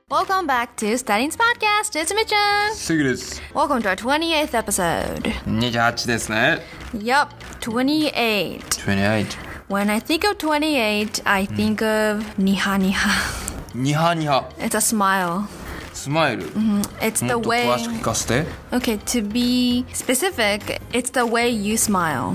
Welcome back to Studying's podcast. It's Mitch-chan. すぐです。 Welcome to our 28th episode. 28ですね。 Yup, 28. 28。 When I think of 28, I think of niha niha. ニハニハ。 It's a smile. スマイル。 It's も the っと way. 詳しく聞かせて。 Okay, to be specific, it's the way you smile.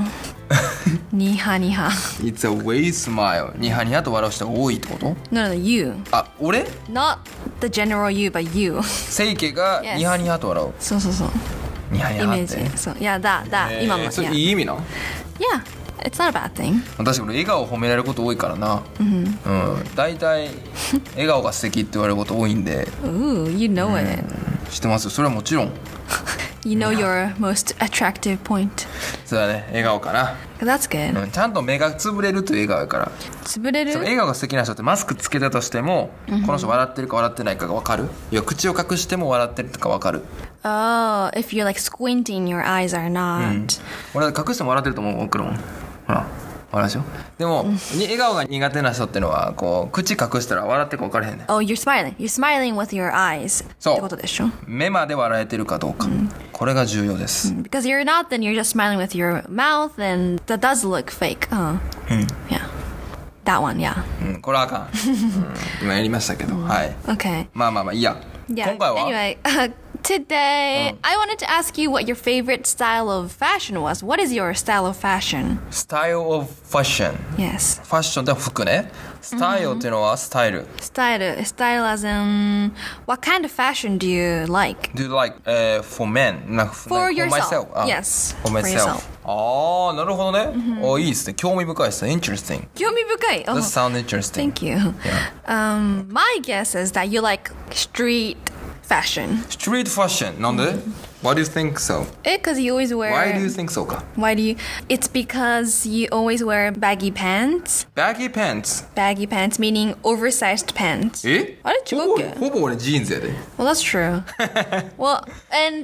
niha niha. It's a way smile. ニハニハと笑う人が多いってこと No, no, you. あ、俺 Not the general you, but you. セイケが Yes. ニハニハと笑う。 そうそうそう。 ニハニハって。 イメージ。そう。Yeah, that. 今の。 それ Yeah. いい意味なの Yeah, it's not a bad thing. 私俺笑顔褒められること多いからな。大体笑顔が素敵って言われること多いんで。 Ooh, you know it. 知ってますよ。それはもちろん。 You know your most attractive point. そうだね。笑顔かな。 That's good. ちゃんと目がつぶれるという笑顔やから。 潰れる？ その笑顔が素敵な人ってマスクつけたとしても、この人笑ってるか笑ってないかが分かる。いや口を隠しても笑ってるとか分かる。 Oh, if you're like squinting, your eyes are not. 俺隠しても笑ってると思う。送るもん。ほら笑うでしょ。でも、笑顔が苦手な人ってのはこう口隠したら笑ってるか分からへんねん。 Oh, you're smiling. You're smiling with your eyes. そう。 ってことでしょ？ 目まで笑えてるかどうか、これが重要です。 Because you're not, then you're just smiling with your mouth, and that does look fake. Yeah. That one, yeah. これはあかん。今やりましたけど、はい。 Okay. まあいいや。 Yeah. 今回は Anyway, today I wanted to ask you what your favorite style of fashion was. What is your style of fashion? Style of fashion。 Yes. ファッションって服ね。スタイルっていうのはスタイル。 Style as in what kind of fashion do you like? Do you like for men? For yourself. myself? Yes. For For myself. yourself. ああ、なるほどね。いいですね。興味深いですね。Interesting. 興味深い. That sounds interesting. Thank you. My guess is that you like street fashion. Street fashion. なんで Why do you think so? Because you always wear. Why do you think so か Why do you? It's because you always wear baggy pants. Baggy pants. Baggy pants meaning oversized pants. えあれ違うっけほぼ俺ジーンズやで。 Well, that's true. Well, and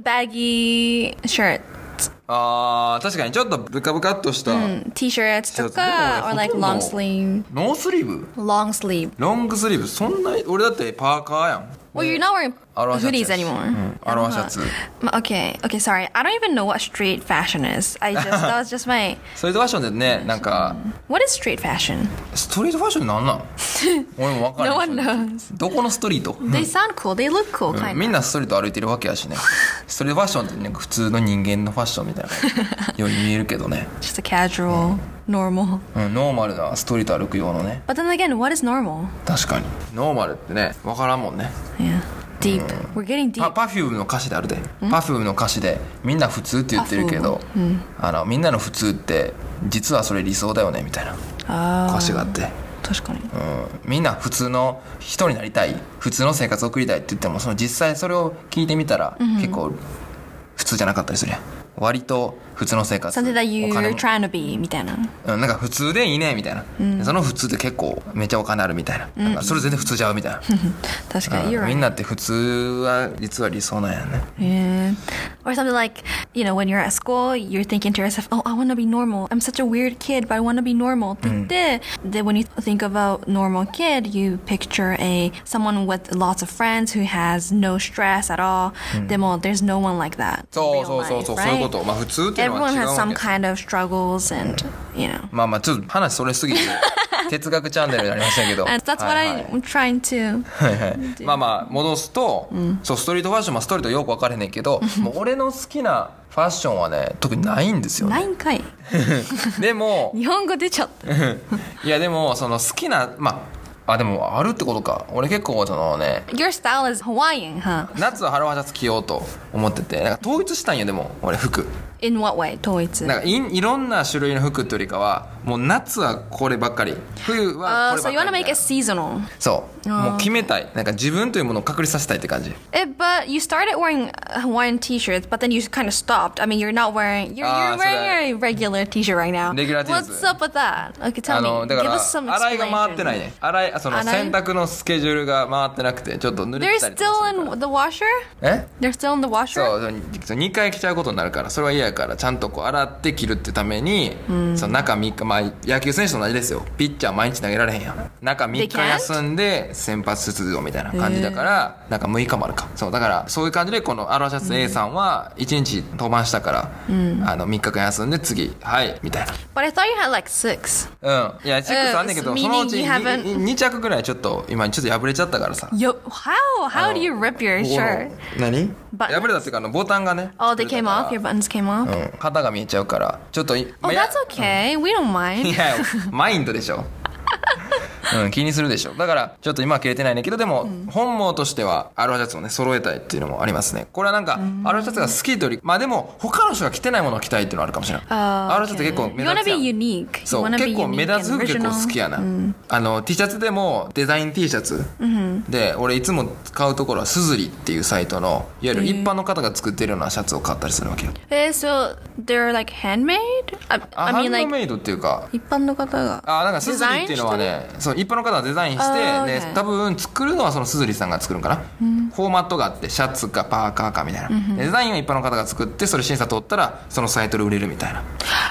baggy shirt. あー、確かにちょっとブカブカっとした。 T-shirts とか or like long sleeve. ノースリーブ Long sleeve. ロングスリーブそんな俺だってパーカーやん。 Well, you're not wearing アロハシャツ hoodies やし anymore. アロハシャツ。 Okay, sorry. I don't even know what street fashion is. That was just my. ストリートファッションってね、なんか What is street fashion? ストリートファッションなんなん俺も分かん No ない。 one knows. どこのストリート They sound cool. They look cool, kind み of. んなストリート歩いてるわけやしね。ストリートファッションってなんか普通の人間のファッションみたいなように見えるけどね。 Just a casual, normal. ノーマルなストリート歩く用のね。 But then again, what is normal? 確かにノーマルってね分からんもんね。 Yeah. Deep. We're getting deep. パフュームの歌詞であるで。パフュームの歌詞でみんな普通って言ってるけど、みんなの普通って実はそれ理想だよねみたいな歌詞があって、 確かに。 みんな普通の人になりたい、普通の生活を送りたいって言ってもその実際それを聞いてみたら、結構普通じゃなかったりするやん。割と普通の生活 Something that お金 you're も trying to be みたいな。 なんか普通でいいねみたいな、その普通って結構めっちゃお金あるみたいな、なんかそれ全然普通ちゃうみたいな、 確かに。You're みん right. なって普通は実は理想なんやね。 Yeah. Or something like, when you're at school, you're thinking to yourself, oh, I want to be normal. I'm such a weird kid, but I want to be normal. って言って、then when you think of a normal kid, you picture someone with lots of friends who has no stress at all. でも、there's no one like that. そう in そう real そうそう、 life, そういう right? こと。まあ普通っていうのは Everyone 違う has わ some け。 kind of struggles and, まあちょっと話それすぎて哲学チャンネルになりましたけど。 And that's what はいはい I'm trying to. はいはい。まあ戻すと、そうストリートファッションもストリートよく分かれへんねんけど、もう俺の好きなファッションはね特にないんですよね。 ないんかい。 でも日本語出ちゃった。 いやでもその好きなでもあるってことか。俺結構そのね Your style is Hawaiian, huh? 夏はハロハシャツ着ようと思ってて、なんか統一したんよ。でも俺服 In what way? 統一。 なんかいろんな種類の服ってよりかはもう夏はこればっかり、冬はこればっか So り you want to みたい make な it seasonal. そうもう決めたい。なんか自分というものを確立させたいって感じ。 But you started wearing Hawaiian t-shirts, but then you kind of stopped. I mean, you're not wearing. You're wearing a regular t-shirt right now. Regular t-shirt. What's up with that? Okay, tell me. だか Give ら us some 洗いが回ってない explanation. ね。その洗い洗濯のスケジュールが回ってなくてちょっと濡れ They're てたりとかする still から。 in the washer. え They're still in the washer. そう2回着ちゃうことになるからそれは嫌やからちゃんとこう洗って着るってために、その中3日、まあ野球選手と同じですよ。ピッチャー毎日投げられへんやん。中3日休んで先発出場みたいな感じだから、なんか6日もあるか。そうだからそういう感じで、このアロハシャツ A さんは1日登板したから、3日間休んで次はいみたいな。 But I thought you had like 6. いや6あんねんけど、そのうち meaning you haven't- 2着ぐらいちょっと今ちょっと破れちゃったからさ。 Yo, how do you rip your ここの shirt? 何 Buttons? 破れたっていうかボタンがね Oh, they came off? Your buttons came off? 肩が見えちゃうからちょっと Oh, that's okay. We don't い mind. やマインドでしょ気にするでしょ。だからちょっと今は切れてないねんけど、でも本望としてはアロハシャツをね揃えたいっていうのもありますね。これはなんかアロハシャツが好きというより、まあでも他の人が着てないものを着たいっていうのはあるかもしれない。アロハシャツ結構 You 目 wanna 立つや be ん。 unique. そう You wanna 結 be 構目 unique 立つ and 服結構 original. 好きやな、T シャツでもデザイン T シャツ、で俺いつも買うところはスズリっていうサイトのいわゆる一般の方が作ってるようなシャツを買ったりするわけよ。 So they're like handmade? I ハ mean ンド like メイドっていうか、 一般の方がなんかスズリっていうのはね、そう一般の方がデザインして、で多分作るのはそのスズリさんが作るんかな、フォーマットがあってシャツかパーカーかみたいな、デザインは一般の方が作って、それ審査通ったらそのサイトで売れるみたいな。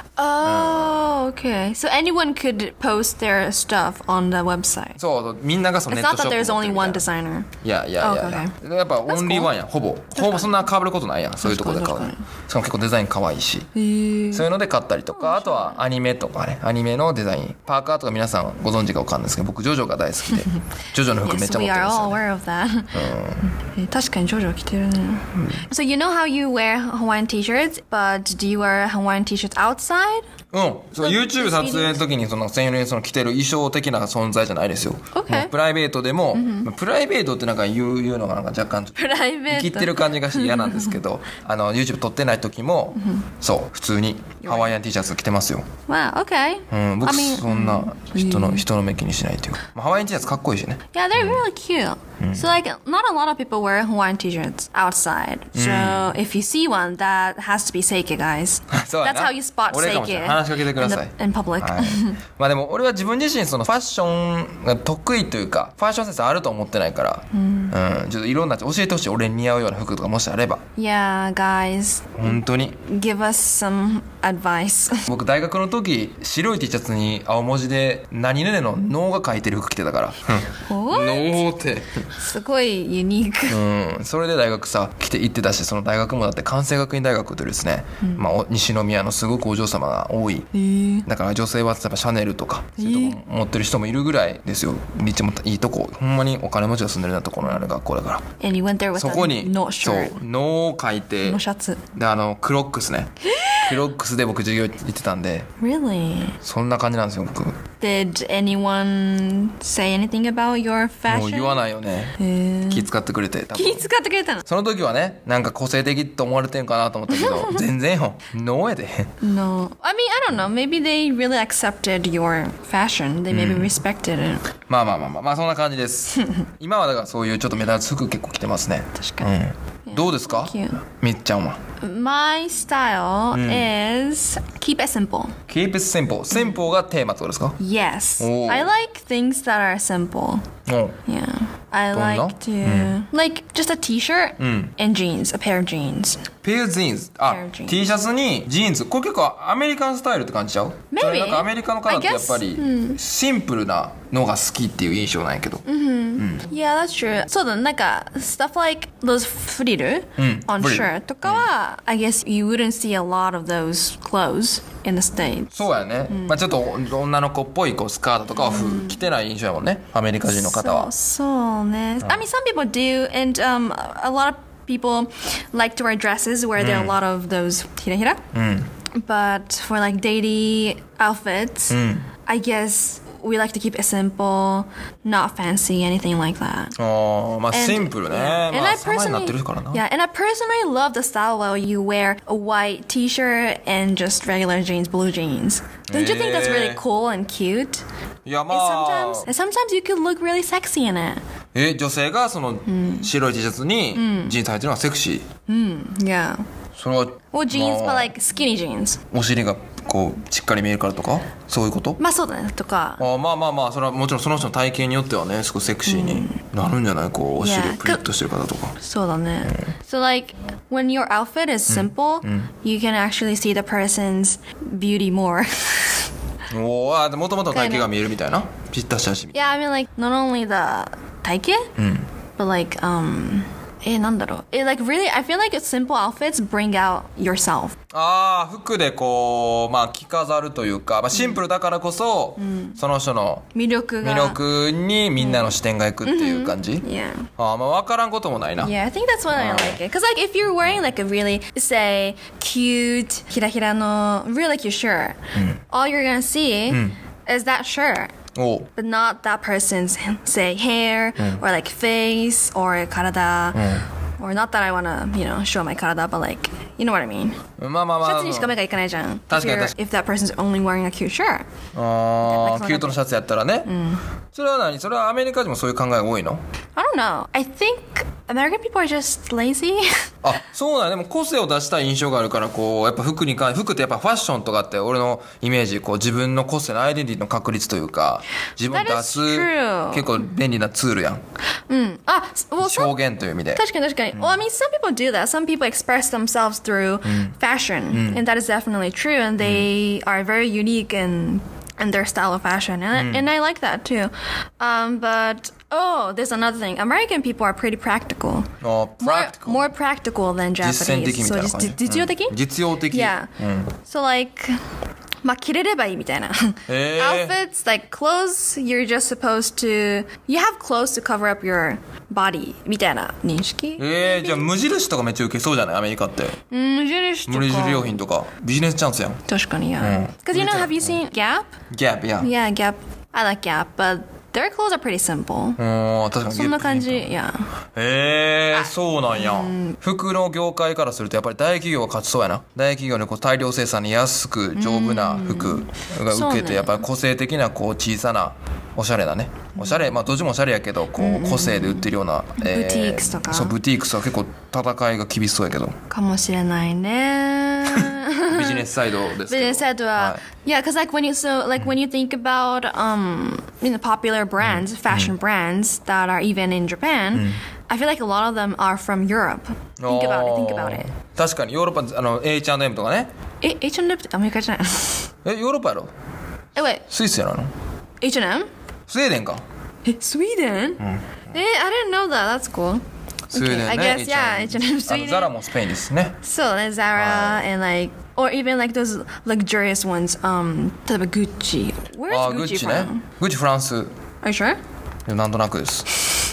Oh, okay. So anyone could post their stuff on the website. そうみんながその It's ネッ not トショ that ップ there's 持ってる only みたい one な。 designer. いややっぱオンリーワンやん、ほぼそんな被ることないやん、そういうところで買うの。しかも結構デザイン可愛いし、そういうので買ったりとか、あとはアニメとかね、アニメのデザインパーカーとか皆さんご存知か分かんないですけど、僕ジョジョが大好きでジョジョの服めっ Yes, ちゃ持 we ってる are んです all よね。 aware of that. 確かにジョジョ着てるね。So you know how you wear Hawaiian t-shirts, but do you wear Hawaiian t-shirts outside? そう YouTube 撮影の時にその専用にその着てる衣装的な存在じゃないですよ。 Okay. もうプライベートでも、プライベートってなんか言うのがなんか若干ちょっとプライベート生きってる感じがして嫌なんですけどYouTube 撮ってない時も、そう普通にハワイアン T シャツ着てますよ。 Wow, okay. 僕 I mean, そんな人の目気にしないというか、ハワイアン T シャツかっこいいしね。 yeah, they're really cute. So like, not a lot of people wear Hawaiian t-shirts outside. So if you see one, that has to be Seike, guys. そうや That's な how you spot 俺かもしれ Seike ない。話しかけてください in public. はいまあでも俺は自分自身そのファッションが得意というかファッションセンスあると思ってないから、ちょっといろんな教えてほしい。俺に似合うような服とかもしあれば Yeah, guys, 本当に。 give us some advice. 僕大学の時白い T シャツに青文字で何々の脳が書いてる服着てたから脳ってすごいユニーク。 それで大学さ来て行ってたし、その大学もだって関西学院大学というですね、西宮のすごくお嬢様が多い、だから女性は例えばシャネルとかそういうとこ持ってる人もいるぐらいですよ。めっちゃいいとこ、ほんまにお金持ちが住んでるようなところにある学校だから、 And you went there with そこに no そう shirt. 脳を書いてのシャツ。 でクロックスねクロックスで僕授業行ってたんで、 Really? そんな感じなんですよ僕。 Did anyone say anything about your もう fashion? 言わないよね、気使ってくれて。多分気使ってくれたの？ その時はね、なんか個性的と思われてんかなと思ったけど全然よ、ノーやで。 No. I mean, I don't know. Maybe they really accepted your fashion. They maybe respected it. まあそんな感じです今はだからそういうちょっと目立つ服結構着てますね。 確かに。 どうですか Cute. みっちゃんは。 My style is keep it simple. Keep it simple。 simple がテーマってことですか？ Yes. Oh. I like things that are simple. うん。 Yeah. I どんな？ like to like just a t-shirt and jeans, a pair of jeans. ペアジーンズ。あ、 Pair of jeans. T シャツにジーンズ。これ結構アメリカンスタイルって感じちゃう？ Maybe. それなんかアメリカの方って I guess. やっぱりシンプルなのが好きっていう印象なんやけど。 Yeah, that's true. そうだね、なんか stuff like those frill on フリル shirt とかは、I guess you wouldn't see a lot of those clothes in the States. そうやね。まあちょっと女の子っぽいこうスカートとかは着てない印象やもんね。アメリカ人の方は。 そうね。I mean, some people do, and a lot of people like to wear dresses where there are a lot of those ひらひら. But for like daily outfits, I guess we like to keep it simple, not fancy, anything like that. まあ And- シンプルね。 yeah. And ま I あ様になってるからな。 yeah, and I personally love the style where you wear a white t-shirt and just regular jeans, blue jeans. Don't you think that's really cool and cute? いや And まあ sometimes you could look really sexy in it. 女性がその白い T シャツにジーンズ履いてるのがセクシー。 Yeah. それは Or jeans, ま but あ like skinny jeans. お尻がこうしっかり見えるからとかそういうこと？ まあそうだねとか。 まあそれはもちろんその人の体型によってはねすごいセクシーになるんじゃない？こうお尻をプリッとしてる方とか。 そうだね。So like when your outfit is simple, you can actually see the person's beauty more. おー、もともとの体型が見えるみたいな。ぴったしだしみたい Yeah, I mean like not only the 体型, but like なんだろう。like really, I feel like simple outfits bring out yourself. ああ、服でこう、まあ着飾るというか、まあ、シンプルだからこそ、その人の魅力にみんなの視点がいくっていう感じ、 Yeah. ああ、まあ分からんこともないな。 Yeah, I think that's why I like it. Because like if you're wearing like a really, say, cute, ひらひらの really cute shirt, all you're gonna see is that shirt. おう But not that person's, say, hair, or like face, or 体, or not that I wanna, show my 体, but like, you know what I mean? まあまあまあ。 シャツにしか目がいかないじゃん。 確かに If that person's only wearing a cute shirt. ああ、キュートのシャツやったらね。それは何？それはアメリカ人もそういう考えが多いの？ I don't know. I think American people are just lazy. あ、そうなんや。でも個性を出したい印象があるから、こう、やっぱ服ってやっぱファッションとかって俺のイメージ、こう自分の個性のアイデンティティの確立というか、自分を出す 結構便利なツールやん。表現という意味で。 確かに。Well, I mean, some people do that. Some people express themselves through fashion, and that is definitely true. And they are very unique in their style of fashion, and I like that too. But there's another thing. American people are pretty practical. Practical. More practical than Japanese. 実践的みたいな感じ。 実用的？ 実用的。 Yeah. So like. まあ着れればいいみたいな。Outfits, like clothes, you're just supposed to, you have clothes to cover up your body みたいな認識。 じゃあ無印とかめっちゃ受けそうじゃないアメリカって。 無印とか。 無印良品とかビジネスチャンスやん。 確かに、yeah. Because have you seen Gap? Gap, yeah. Yeah, Gap. I like Gap, but their clothes are pretty simple. 確かに。 そんな感じ、yeah. そうなんや。服の業界からするとやっぱり大企業は勝ちそうやな。大企業でこう大量生産に安く丈夫な服が受けて、やっぱり個性的なこう小さなおしゃれだね。おしゃれ、まあどっちもおしゃれやけど、こう個性で売ってるような、 ブティークスとか。 そう、ブティークスは結構戦いが厳しそうやけど。 かもしれないね。 ビジネスサイドですけど。 ビジネスサイドは、yeah, because like when you think about popular brands, fashion brands that are even in Japan, I feel like a lot of them are from Europe. Think about it. 確かにヨーロッパH&M とかね。 H&M ってアメリカじゃない？ ヨーロッパやろ ？Wait. スイスやなの？ H&M? スウェーデンか。 Sweden? I didn't know that. That's cool. スウェーデンね。 I guess, yeah, H&M Sweden. ザラもスペインですね。 そうね、Zara and like, or even like those luxurious ones. 例えば Gucci. Where is Gucci from? ね。Gucci フランス。 Are you sure? なんとなくです。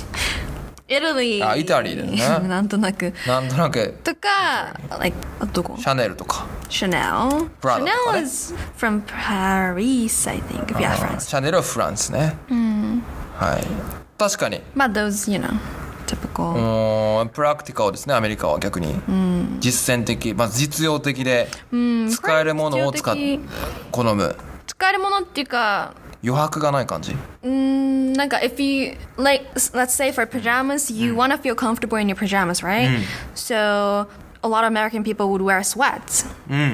Italy. イタリーですね。 なんとなく。とか、like どこ？ シャネルとか。 Chanel. Chanel is from Paris, I think. If you have France. シャネルはフランスね。はい。確かに。 まあ those, typical. プラクティカルですね、アメリカは逆に。実践的、まあ実用的で、使えるものを好む。 使えるものっていうか、 余白がない感じ。 なんか if you like, let's say for pajamas, you want to feel comfortable in your pajamas, right? So a lot of American people would wear sweats.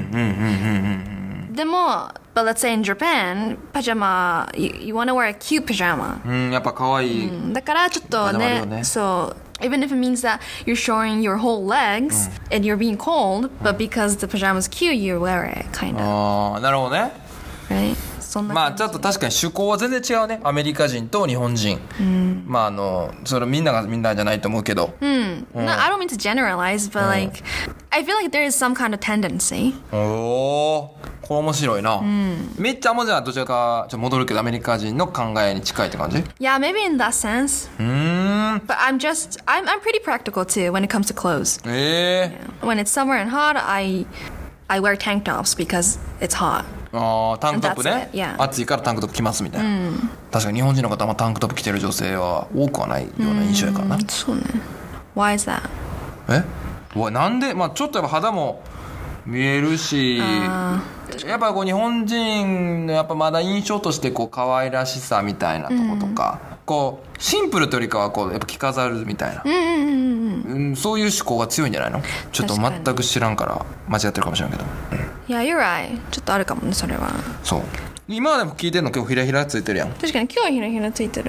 でも but let's say in Japan, pajama, you want to wear a cute pajama. やっぱ可愛い。 だからちょっとね、そう。Even if it means that you're showing your whole legs and you're being cold, but because the pajama's cute, you wear it, kind of. なるほどね。 Right? まあちょっと確かに趣向は全然違うね。アメリカ人と日本人。まあそれみんながみんなじゃないと思うけど。 No, I don't mean to generalize, but like, I feel like there is some kind of tendency. これ面白いな。めっちゃじゃあどちらかちょっと戻るけどアメリカ人の考えに近いって感じ？ Yeah, maybe in that sense. But I'm pretty practical too when it comes to clothes. Yeah. When it's summer and hot, I wear tank tops because it's hot. タンクトップね。暑いからタンクトップ着ますみたいな。確かに日本人の方はタンクトップ着てる女性は多くはないような印象やからな。 そうね。Why is that? なんでまあちょっとやっぱ肌も見えるし、やっぱこう日本人のやっぱまだ印象としてこう可愛らしさみたいなとことか、こうシンプルというよりかはこうやっぱ着飾るみたいな、そういう思考が強いんじゃないの？ちょっと全く知らんから間違ってるかもしれんけど。 Yeah, you're right. ちょっとあるかもね、それは。 そう。今までも聞いてるの今日ひらひらついてるやん。 確かに今日はひらひらついてる。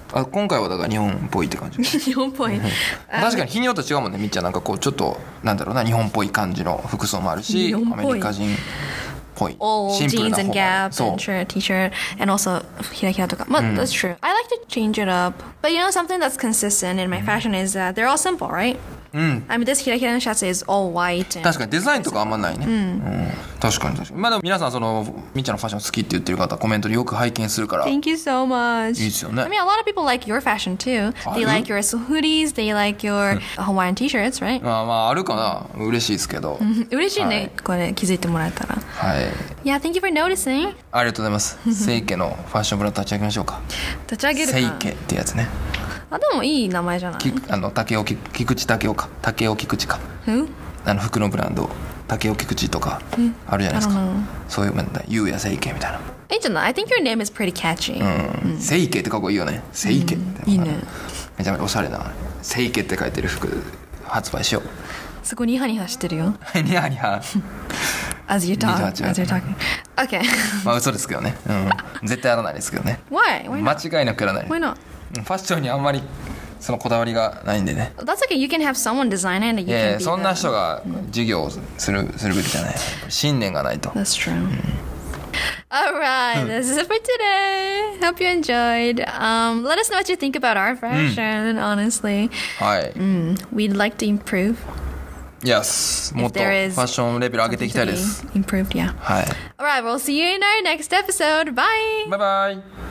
今回はだから日本っぽいって感じ日本っぽい。 確かに日によって違うもんね。みっちゃんなんかこうちょっとなんだろうな、日本っぽい感じの服装もあるし、アメリカ人っぽい All シンプル jeans な and 方 Gap そう and shirt, t-shirt, and also ひらひらとか。That's true. I like to change it up. But you know something that's consistent in my fashion is that they're all simple, right? I mean, this ひらひらのシャツ is all white. 確かにデザインとかあんまないね、確かに確かに。まあでも皆さんそのみっちゃんのファッション好きって言ってる方コメントによく拝見するから。 Thank you so much. いいですよね。 I mean, a lot of people like your fashion too. They like your hoodies, they like your Hawaiian t-shirts, right? まああるかな、嬉しいですけど嬉しいね、 はいこれ気づいてもらえたら。 はい、 Yeah, thank you for noticing. ありがとうございます。セイケのファッションブランド立ち上げましょうか。 立ち上げるか。 セイケってやつね。 あ、でもいい名前じゃない。 竹尾菊池竹雄か、竹尾菊池か、 Who? 服のブランド竹尾菊池とかあるじゃないですか、そういう問題、ゆうやセイケみたいな。 いいじゃない。I think your name is pretty catchy. セイケってかっこいいよね。セイケって、 いいね。 めちゃめちゃおしゃれなセイケって書いてる服発売しよう。 そこニハニハしてるよ。 ニヤニヤ As you talk. 28 As you're talking. Okay. まあ嘘ですけどね、絶対やらないですけどね。 Why? Why not? 間違いなくやらない。 Why not? ファッションにあんまりそのこだわりがないんでね。 That's okay. You can have someone design it and you いやい can や be そんな the... 人が授業をするべきじゃない。信念がないと。 That's true. Alright, this is it for today. Hope you enjoyed. Let us know what you think about our fashion, honestly. はい、 We'd like to improve. Yes もっと there フ is ァッションレベル上げていきたいです。 Improved, yeah. はい、 Alright, we'll see you in our next episode. Bye! バイバイ。